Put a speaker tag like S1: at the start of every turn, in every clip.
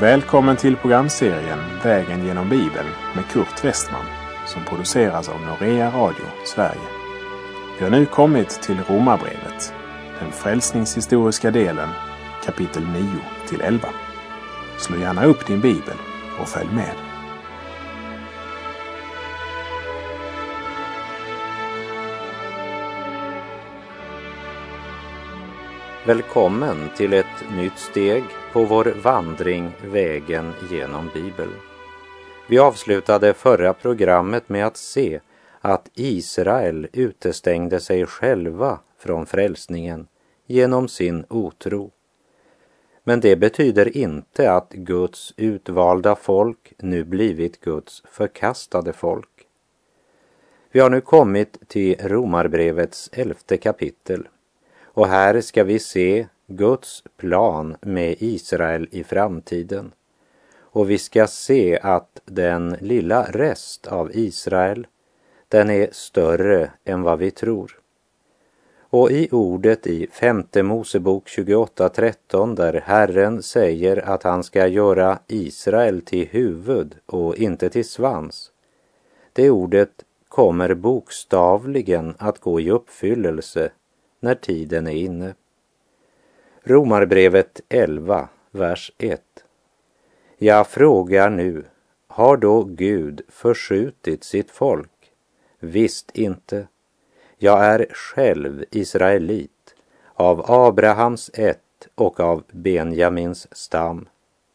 S1: Välkommen till programserien Vägen genom Bibeln med Kurt Westman som produceras av Norea Radio Sverige. Vi har nu kommit till Romarbrevet, den frälsningshistoriska delen, kapitel 9-11. Slå gärna upp din bibel och följ med.
S2: Välkommen till ett nytt steg på vår vandring vägen genom Bibeln. Vi avslutade förra programmet med att se att Israel utestängde sig själva från frälsningen genom sin otro. Men det betyder inte att Guds utvalda folk nu blivit Guds förkastade folk. Vi har nu kommit till Romarbrevets 11:e kapitel. Och här ska vi se Guds plan med Israel i framtiden. Och vi ska se att den lilla rest av Israel, den är större än vad vi tror. Och i ordet i 5:e Mosebok 28:13 där Herren säger att han ska göra Israel till huvud och inte till svans. Det ordet kommer bokstavligen att gå i uppfyllelse när tiden är inne. Romarbrevet 11, vers 1. Jag frågar nu, har då Gud förskjutit sitt folk? Visst inte. Jag är själv israelit, av Abrahams ett och av Benjamins stam.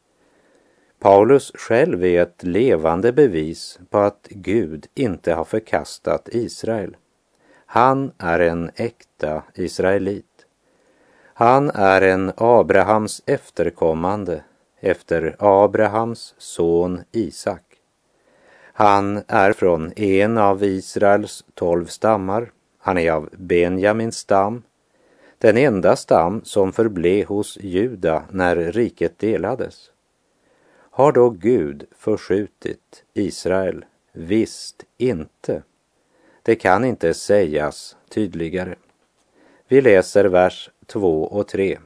S2: Paulus själv är ett levande bevis på att Gud inte har förkastat Israel. Han är en äkta israelit. Han är en Abrahams efterkommande efter Abrahams son Isak. Han är från en av Israels 12 stammar. Han är av Benjamins stam, den enda stam som förblev hos Juda när riket delades. Har då Gud förskjutit Israel? Visst inte. Det kan inte sägas tydligare. Vi läser vers 2 och 3.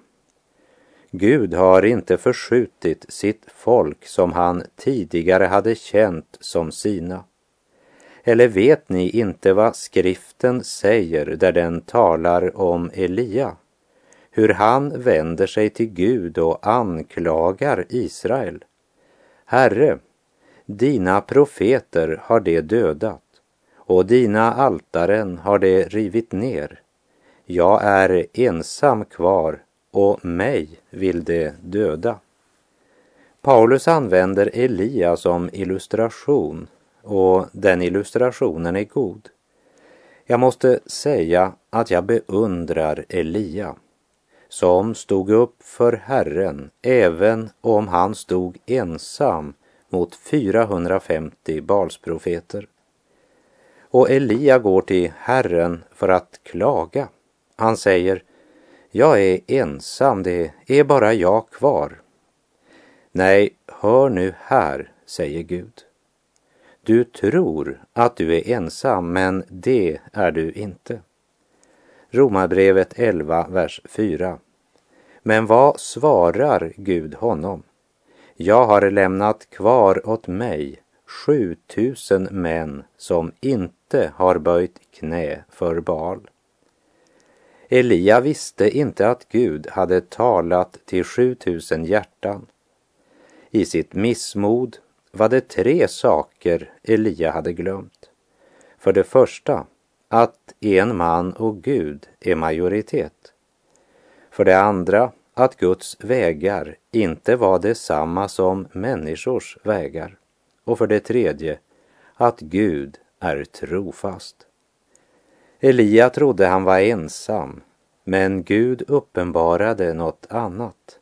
S2: Gud har inte förskjutit sitt folk som han tidigare hade känt som sina. Eller vet ni inte vad skriften säger där den talar om Elia? Hur han vänder sig till Gud och anklagar Israel. Herre, dina profeter har det dödat. Och dina altaren har det rivit ner. Jag är ensam kvar och mig vill det döda. Paulus använder Elia som illustration och den illustrationen är god. Jag måste säga att jag beundrar Elia som stod upp för Herren även om han stod ensam mot 450 Balsprofeter. Och Elia går till Herren för att klaga. Han säger, jag är ensam, det är bara jag kvar. Nej, hör nu här, säger Gud. Du tror att du är ensam, men det är du inte. Romarbrevet 11, vers 4. Men vad svarar Gud honom? Jag har lämnat kvar åt mig 7000 män som inte har böjt knä för Baal. Elia visste inte att Gud hade talat till 7000 hjärtan. I sitt missmod var det 3 saker Elia hade glömt. För det första, att en man och Gud är majoritet. För det andra, att Guds vägar inte var detsamma som människors vägar. Och för det tredje, att Gud är trofast. Elia trodde han var ensam, men Gud uppenbarade något annat.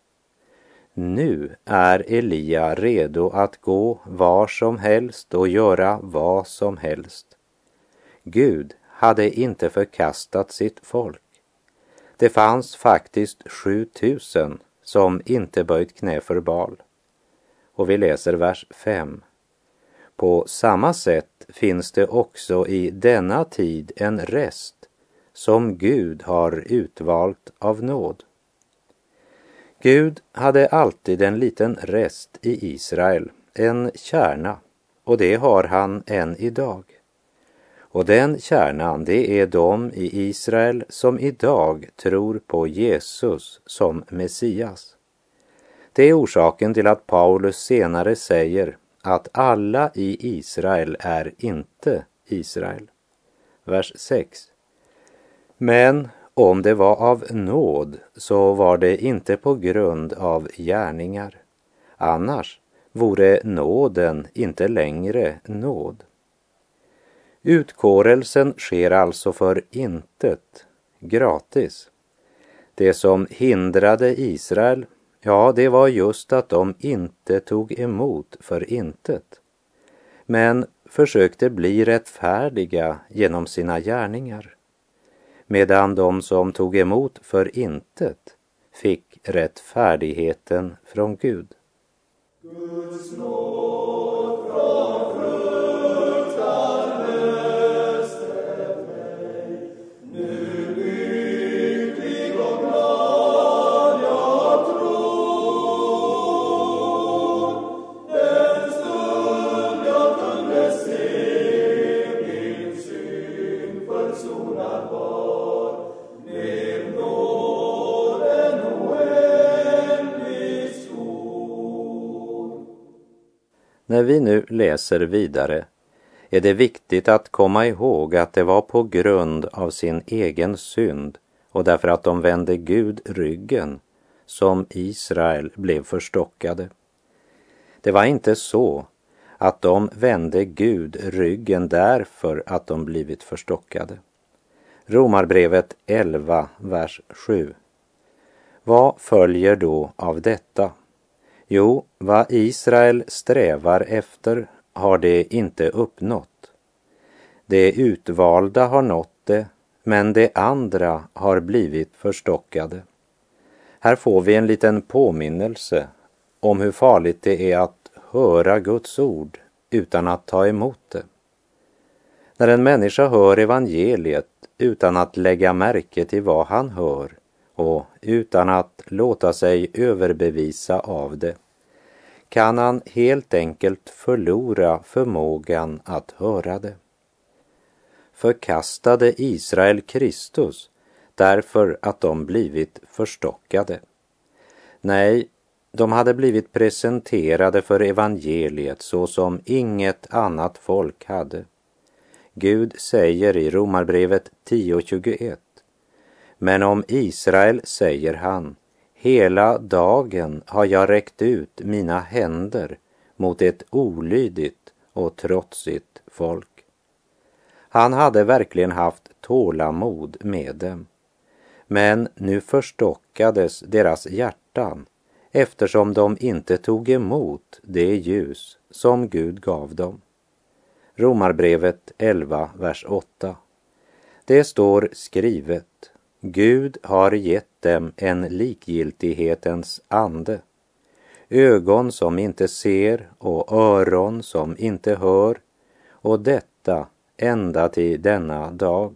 S2: Nu är Elia redo att gå var som helst och göra vad som helst. Gud hade inte förkastat sitt folk. Det fanns faktiskt 7000 som inte böjt knä för Baal. Och vi läser vers 5. På samma sätt finns det också i denna tid en rest som Gud har utvalt av nåd. Gud hade alltid en liten rest i Israel, en kärna, och det har han än idag. Och den kärnan, det är de i Israel som idag tror på Jesus som Messias. Det är orsaken till att Paulus senare säger att alla i Israel är inte Israel. Vers 6. Men om det var av nåd så var det inte på grund av gärningar. Annars vore nåden inte längre nåd. Utkårelsen sker alltså för intet, gratis. Det som hindrade Israel, ja, det var just att de inte tog emot för intet, men försökte bli rättfärdiga genom sina gärningar, medan de som tog emot för intet fick rättfärdigheten från Gud.
S3: Guds nåd från fruktan höstet mig, nu lycklig och glad jag tror, den stund jag kunde se min synd försonad var, med nåden oändligt stor.
S2: När vi nu läser vidare är det viktigt att komma ihåg att det var på grund av sin egen synd och därför att de vände Gud ryggen som Israel blev förstockade. Det var inte så att de vände Gud ryggen därför att de blivit förstockade. Romarbrevet 11, vers 7. Vad följer då av detta? Jo, vad Israel strävar efter har det inte uppnått. Det utvalda har nått det, men det andra har blivit förstockade. Här får vi en liten påminnelse om hur farligt det är att höra Guds ord utan att ta emot det. När en människa hör evangeliet utan att lägga märke till vad han hör och utan att låta sig överbevisa av det, kan han helt enkelt förlora förmågan att höra det. Förkastade Israel Kristus därför att de blivit förstockade? Nej, de hade blivit presenterade för evangeliet så som inget annat folk hade. Gud säger i Romarbrevet 10:21: men om Israel säger han, hela dagen har jag räckt ut mina händer mot ett olydigt och trotsigt folk. Han hade verkligen haft tålamod med dem, men nu förstockades deras hjärtan eftersom de inte tog emot det ljus som Gud gav dem. Romarbrevet 11, vers 8. Det står skrivet: Gud har gett dem en likgiltighetens ande, ögon som inte ser och öron som inte hör, och detta ända till denna dag.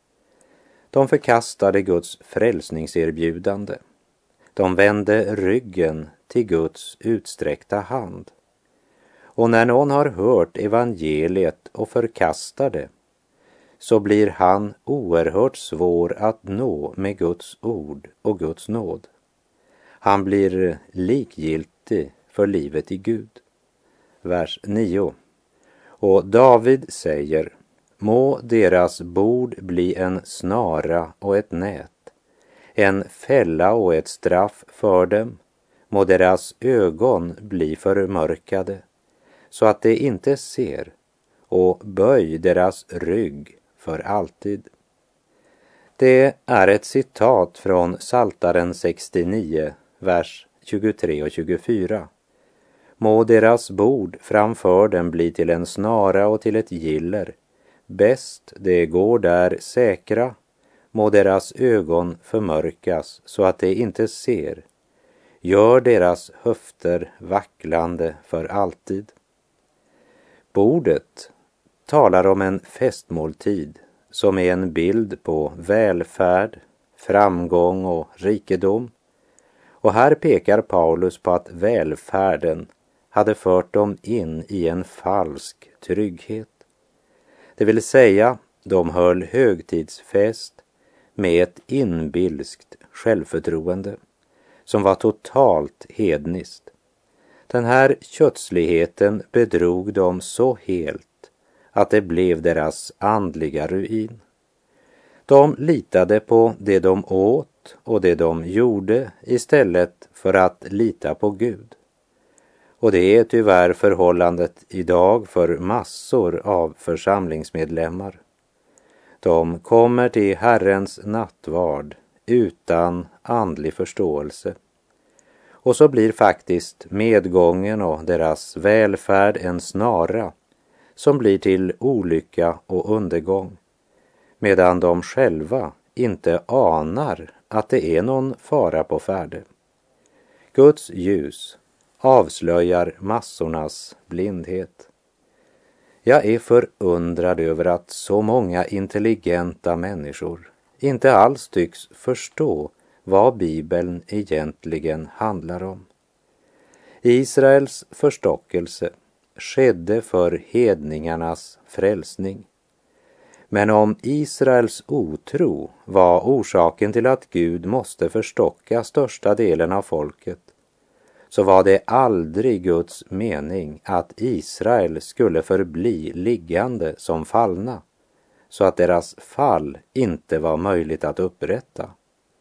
S2: De förkastade Guds frälsningserbjudande. De vände ryggen till Guds utsträckta hand. Och när någon har hört evangeliet och förkastar det, så blir han oerhört svår att nå med Guds ord och Guds nåd. Han blir likgiltig för livet i Gud. Vers 9. Och David säger: må deras bord bli en snara och ett nät, en fälla och ett straff för dem, må deras ögon bli förmörkade, så att de inte ser, och böj deras rygg för alltid. Det är ett citat från Psaltaren 69, vers 23 och 24. Må deras bord framför dem bli till en snara och till ett giller. Bäst det går där säkra. Må deras ögon förmörkas så att de inte ser. Gör deras höfter vacklande för alltid. Bordet talar om en festmåltid som är en bild på välfärd, framgång och rikedom. Och här pekar Paulus på att välfärden hade fört dem in i en falsk trygghet. Det vill säga, de höll högtidsfest med ett inbilskt självförtroende som var totalt hedniskt. Den här kötsligheten bedrog dem så helt att det blev deras andliga ruin. De litade på det de åt och det de gjorde istället för att lita på Gud. Och det är tyvärr förhållandet idag för massor av församlingsmedlemmar. De kommer till Herrens nattvard utan andlig förståelse. Och så blir faktiskt medgången och deras välfärd en snara som blir till olycka och undergång, medan de själva inte anar att det är någon fara på färde. Guds ljus avslöjar massornas blindhet. Jag är förundrad över att så många intelligenta människor inte alls tycks förstå vad Bibeln egentligen handlar om. Israels förstockelse skedde för hedningarnas frälsning. Men om Israels otro var orsaken till att Gud måste förstocka största delen av folket, så var det aldrig Guds mening att Israel skulle förbli liggande som fallna, så att deras fall inte var möjligt att upprätta.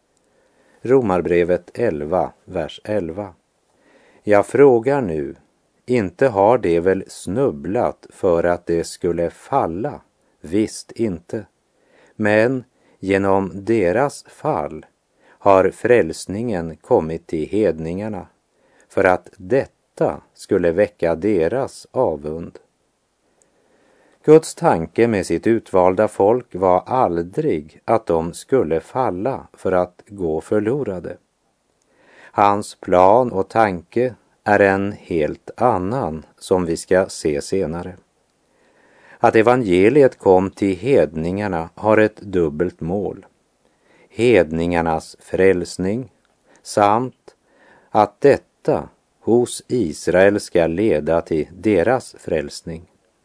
S2: Romarbrevet 11, vers 11. Jag frågar nu, inte har det väl snubblat för att det skulle falla? Visst inte. Men genom deras fall har frälsningen kommit till hedningarna, för att detta skulle väcka deras avund. Guds tanke med sitt utvalda folk var aldrig att de skulle falla för att gå förlorade. Hans plan och tanke är en helt annan som vi ska se senare. Att evangeliet kom till hedningarna har ett dubbelt mål. Hedningarnas frälsning samt att detta hos Israel ska leda till deras frälsning.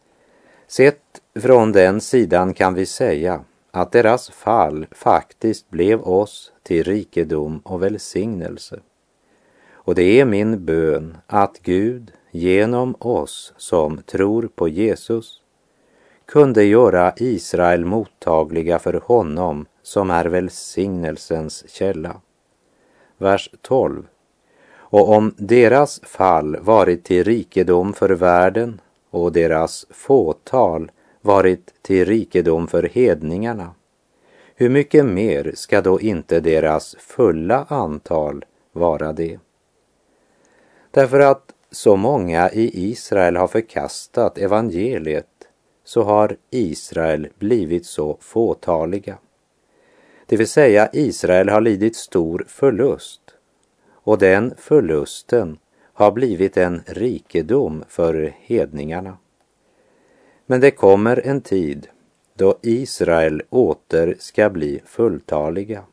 S2: Sett från den sidan kan vi säga att deras fall faktiskt blev oss till rikedom och välsignelse. Och det är min bön att Gud genom oss som tror på Jesus kunde göra Israel mottagliga för honom som är välsignelsens källa. Vers 12. Och om deras fall varit till rikedom för världen och deras fåtal varit till rikedom för hedningarna, hur mycket mer ska då inte deras fulla antal vara det? Därför att så många i Israel har förkastat evangeliet, så har Israel blivit så fåtaliga. Det vill säga, Israel har lidit stor förlust, och den förlusten har blivit en rikedom för hedningarna. Men det kommer en tid då Israel åter ska bli fulltaliga.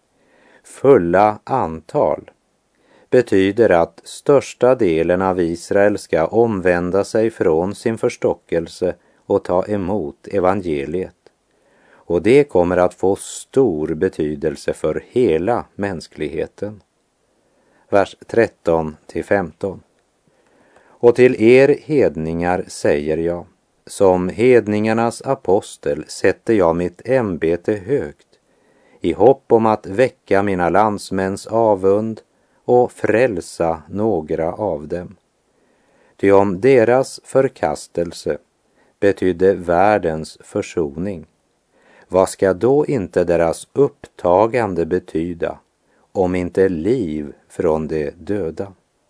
S2: Fulla antal betyder att största delen av Israel ska omvända sig från sin förstockelse och ta emot evangeliet. Och det kommer att få stor betydelse för hela mänskligheten. Vers 13-15. Och till er hedningar säger jag, som hedningarnas apostel sätter jag mitt ämbete högt, i hopp om att väcka mina landsmäns avund och frälsa några av dem. Ty om deras förkastelse betydde världens försoning, vad ska då inte deras upptagande betyda, om inte liv från de döda?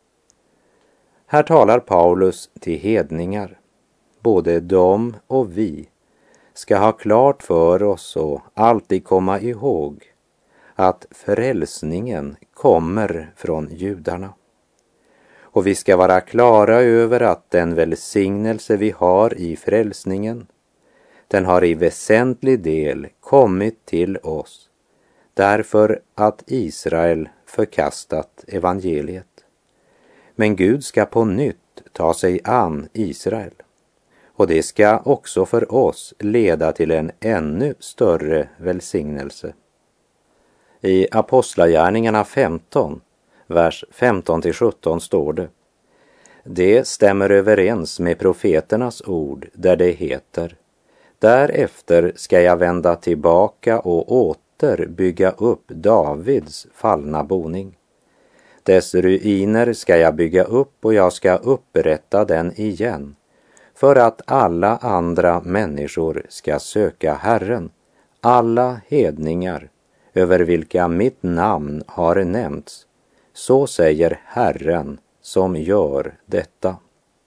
S2: Här talar Paulus till hedningar. Både de och vi ska ha klart för oss och alltid komma ihåg att frälsningen kommer från judarna. Och vi ska vara klara över att den välsignelse vi har i frälsningen, den har i väsentlig del kommit till oss, därför att Israel förkastat evangeliet. Men Gud ska på nytt ta sig an Israel. Och det ska också för oss leda till en ännu större välsignelse. I Apostlagärningarna 15, vers 15-17 står det: Det stämmer överens med profeternas ord där det heter: Därefter ska jag vända tillbaka och åter bygga upp Davids fallna boning. Dess ruiner ska jag bygga upp och jag ska upprätta den igen, för att alla andra människor ska söka Herren, alla hedningar över vilka mitt namn har nämnts. Så säger Herren som gör detta.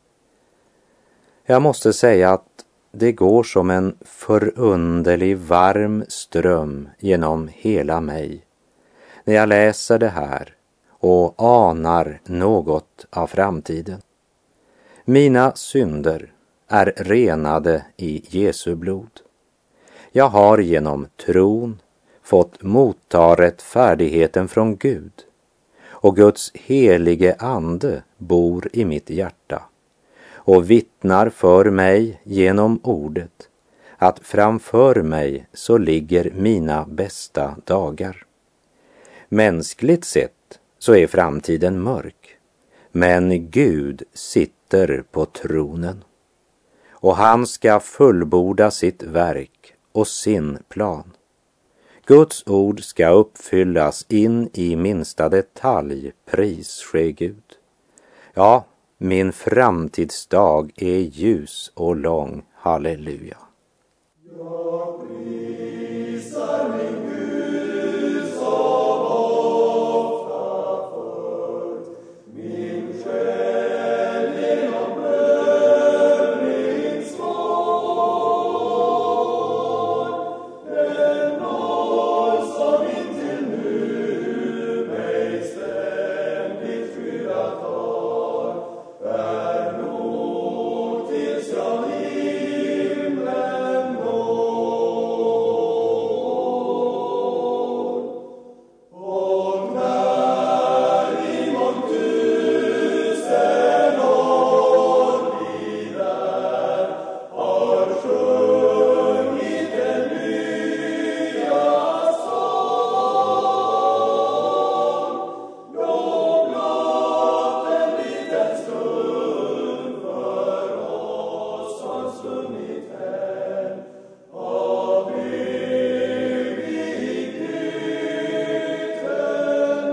S2: Jag måste säga att det går som en förunderlig varm ström genom hela mig när jag läser det här och anar något av framtiden. Mina synder är renade i Jesu blod. Jag har genom tron fått motta rättfärdigheten från Gud, och Guds helige ande bor i mitt hjärta och vittnar för mig genom ordet att framför mig så ligger mina bästa dagar. Mänskligt sett så är framtiden mörk, men Gud sitter på tronen och han ska fullborda sitt verk och sin plan. Guds ord ska uppfyllas in i minsta detalj, pris ske Gud. Ja, min framtidsdag är ljus och lång, halleluja.
S3: Jag prisar min Gud som ofta förr, min själ genom blödning svår. Den nåd som intill nu mig ständigt skyddat har, är nog tills jag himlen når. Och när i mångtusen år vi där har sjungit den nya sång, då blott en liten stund för oss har svunnit hän av evigheten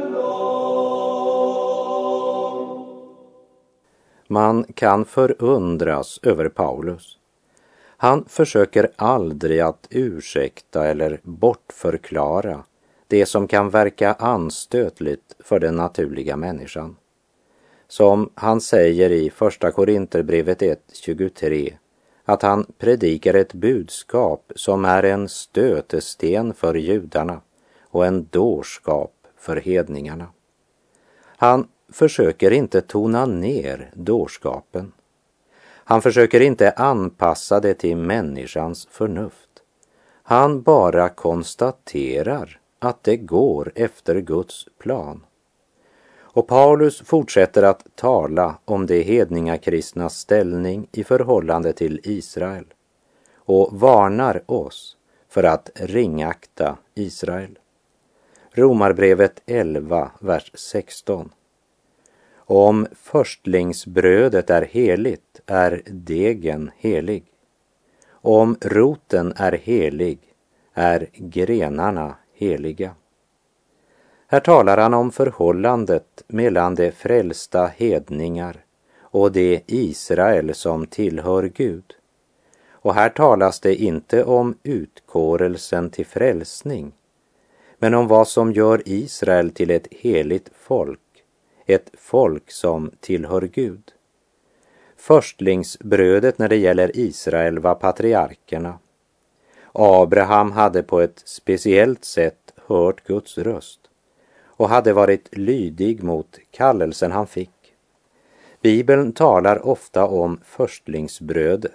S3: lång.
S2: Man kan förundras över Paulus. Han försöker aldrig att ursäkta eller bortförklara det som kan verka anstötligt för den naturliga människan. Som han säger i Första Korinterbrevet 1:23, att han predikar ett budskap som är en stötesten för judarna och en dårskap för hedningarna. Han försöker inte tona ner dårskapen. Han försöker inte anpassa det till människans förnuft. Han bara konstaterar att det går efter Guds plan. Och Paulus fortsätter att tala om de hedningakristnas ställning i förhållande till Israel och varnar oss för att ringakta Israel. Romarbrevet 11, vers 16. Om förstlingsbrödet är heligt är degen helig. Om roten är helig är grenarna heliga. Här talar han om förhållandet mellan de frälsta hedningar och det Israel som tillhör Gud. Och här talas det inte om utkårelsen till frälsning, men om vad som gör Israel till ett heligt folk, ett folk som tillhör Gud. Förstlingsbrödet när det gäller Israel var patriarkerna. Abraham hade på ett speciellt sätt hört Guds röst och hade varit lydig mot kallelsen han fick. Bibeln talar ofta om förstlingsbröd,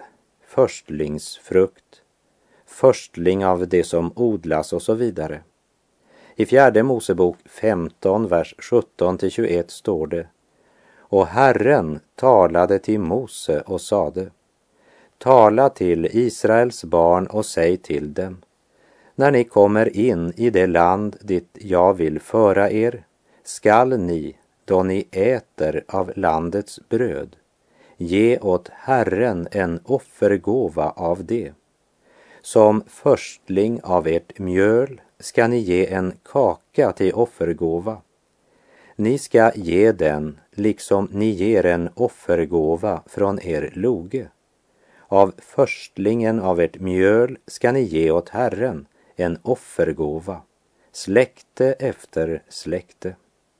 S2: förstlingsfrukt, förstling av det som odlas och så vidare. I 4 Mosebok 15, vers 17-21 står det: Och Herren talade till Mose och sade: Tala till Israels barn och säg till dem: När ni kommer in i det land dit jag vill föra er, skall ni, då ni äter av landets bröd, ge åt Herren en offergåva av det. Som förstling av ert mjöl ska ni ge en kaka till offergåva. Ni ska ge den liksom ni ger en offergåva från er loge. Av förstlingen av ert mjöl ska ni ge åt Herren en offergåva, släkte efter släkte.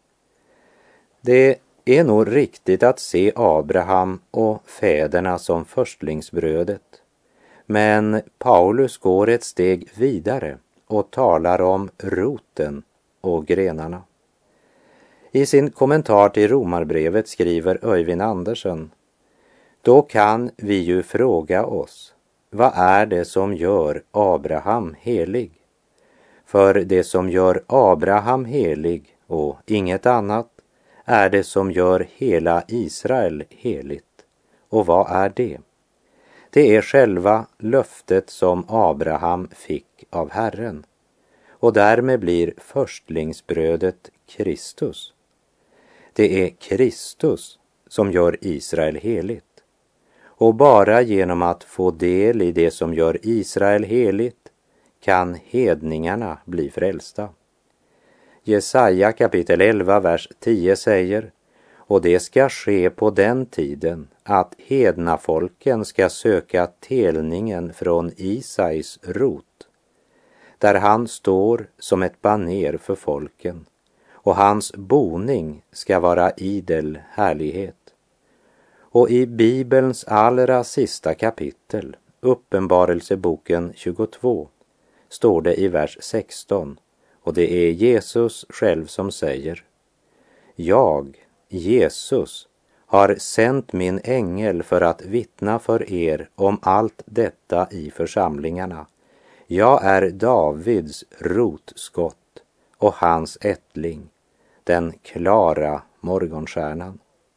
S2: Det är nog riktigt att se Abraham och fäderna som förstlingsbrödet, men Paulus går ett steg vidare och talar om roten och grenarna. I sin kommentar till Romarbrevet skriver Öyvind Andersen: Då kan vi ju fråga oss, vad är det som gör Abraham helig? För det som gör Abraham helig och inget annat är det som gör hela Israel heligt. Och vad är det? Det är själva löftet som Abraham fick av Herren. Och därmed blir förstlingsbrödet Kristus. Det är Kristus som gör Israel heligt. Och bara genom att få del i det som gör Israel heligt kan hedningarna bli frälsta. Jesaja kapitel 11, vers 10 säger: Och det ska ske på den tiden att hednafolken ska söka telningen från Isais rot, där han står som ett baner för folken, och hans boning ska vara idel härlighet. Och i Bibelns allra sista kapitel, Uppenbarelseboken 22, står det i vers 16, och det är Jesus själv som säger: Jag, Jesus, har sänt min ängel för att vittna för er om allt detta i församlingarna. Jag är Davids rotskott och hans ättling, den klara morgonstjärnan.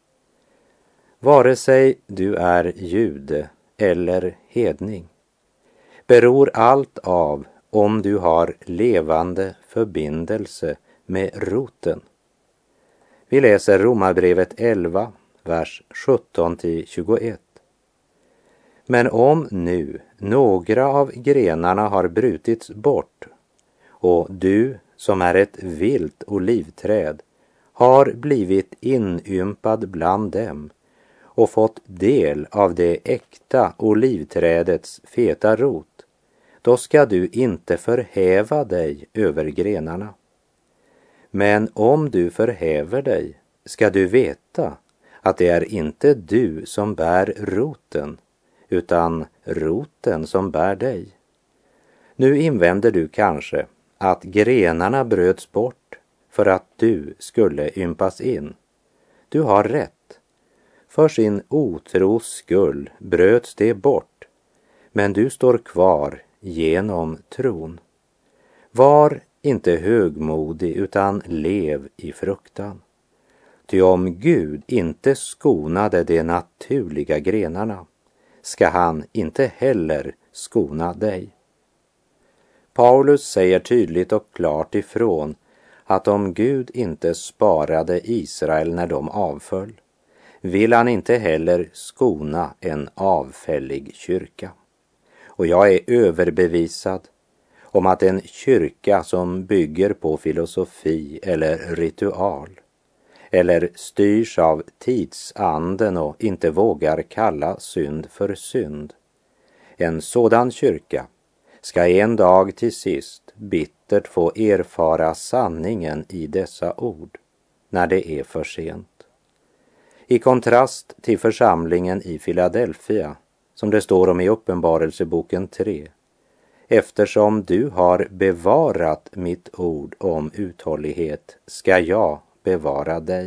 S2: Vare sig du är jude eller hedning, beror allt av om du har levande förbindelse med roten. Vi läser Romarbrevet 11, vers 17-21. Men om nu några av grenarna har brutits bort, och du som är ett vilt olivträd har blivit inympad bland dem och fått del av det äkta olivträdets feta rot, då ska du inte förhäva dig över grenarna. Men om du förhäver dig ska du veta att det är inte du som bär roten, utan roten som bär dig. Nu invänder du kanske att grenarna bröts bort för att du skulle ympas in. Du har rätt. För sin otros skull bröts det bort, men du står kvar genom tron. Var inte högmodig utan lev i fruktan. Ty om Gud inte skonade de naturliga grenarna, ska han inte heller skona dig. Paulus säger tydligt och klart ifrån att om Gud inte sparade Israel när de avföll, vill han inte heller skona en avfällig kyrka. Och jag är överbevisad om att en kyrka som bygger på filosofi eller ritual, eller styrs av tidsanden och inte vågar kalla synd för synd, en sådan kyrka ska en dag till sist bittert få erfara sanningen i dessa ord när det är för sent. I kontrast till församlingen i Philadelphia, som det står om i Uppenbarelseboken 3, eftersom du har bevarat mitt ord om uthållighet ska jag bevara dig.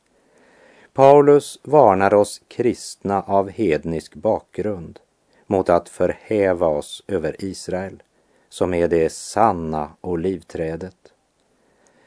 S2: Paulus varnar oss kristna av hednisk bakgrund mot att förhäva oss över Israel, som är det sanna olivträdet.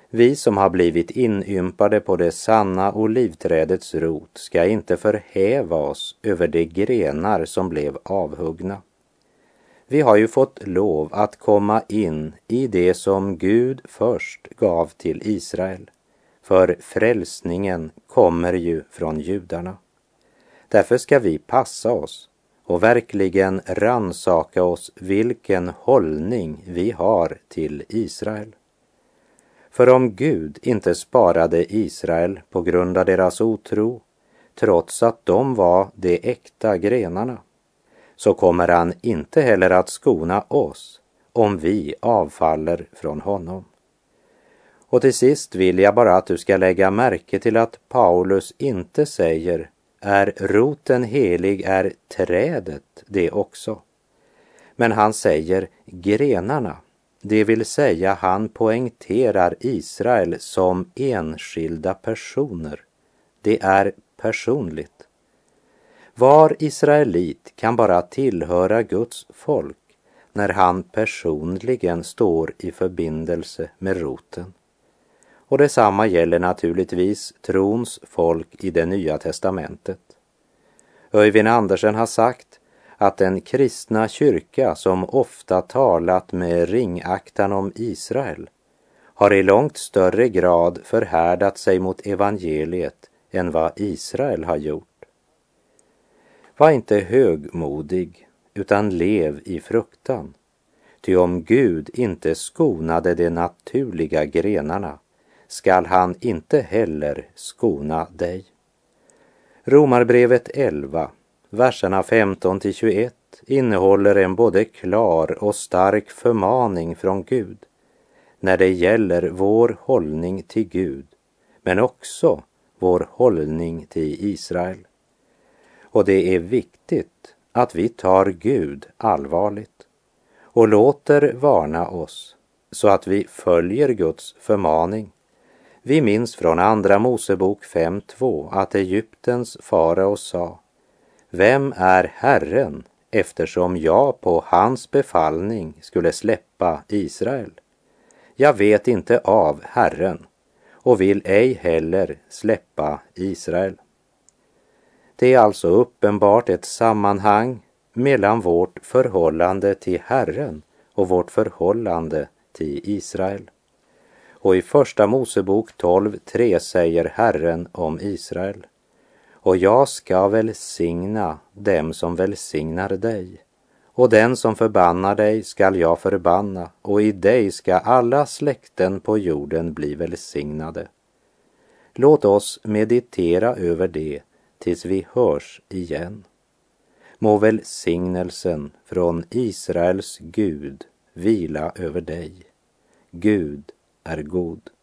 S2: Vi som har blivit inympade på det sanna olivträdets rot ska inte förhäva oss över de grenar som blev avhuggna. Vi har ju fått lov att komma in i det som Gud först gav till Israel, för frälsningen kommer ju från judarna. Därför ska vi passa oss och verkligen ransaka oss vilken hållning vi har till Israel. För om Gud inte sparade Israel på grund av deras otro, trots att de var de äkta grenarna, så kommer han inte heller att skona oss om vi avfaller från honom. Och till sist vill jag bara att du ska lägga märke till att Paulus inte säger är roten helig, är trädet det också. Men han säger grenarna, det vill säga han poängterar Israel som enskilda personer. Det är personligt. Var israelit kan bara tillhöra Guds folk när han personligen står i förbindelse med roten. Och detsamma gäller naturligtvis trons folk i det nya testamentet. Öyvind Andersen har sagt att den kristna kyrka som ofta talat med ringaktan om Israel har i långt större grad förhärdat sig mot evangeliet än vad Israel har gjort. Var inte högmodig, utan lev i fruktan. Ty om Gud inte skonade de naturliga grenarna, skall han inte heller skona dig. Romarbrevet 11, verserna 15-21 innehåller en både klar och stark förmaning från Gud när det gäller vår hållning till Gud, men också vår hållning till Israel. Och det är viktigt att vi tar Gud allvarligt och låter varna oss så att vi följer Guds förmaning. Vi minns från andra Mosebok 5:2 att Egyptens farao sa: Vem är Herren eftersom jag på hans befallning skulle släppa Israel? Jag vet inte av Herren och vill ej heller släppa Israel. Det är alltså uppenbart ett sammanhang mellan vårt förhållande till Herren och vårt förhållande till Israel. Och i första Mosebok 12:3 säger Herren om Israel: Och jag ska välsigna dem som välsignar dig, och den som förbannar dig skall jag förbanna, och i dig ska alla släkten på jorden bli välsignade. Låt oss meditera över det tills vi hörs igen. Må välsignelsen från Israels Gud vila över dig. Gud är god.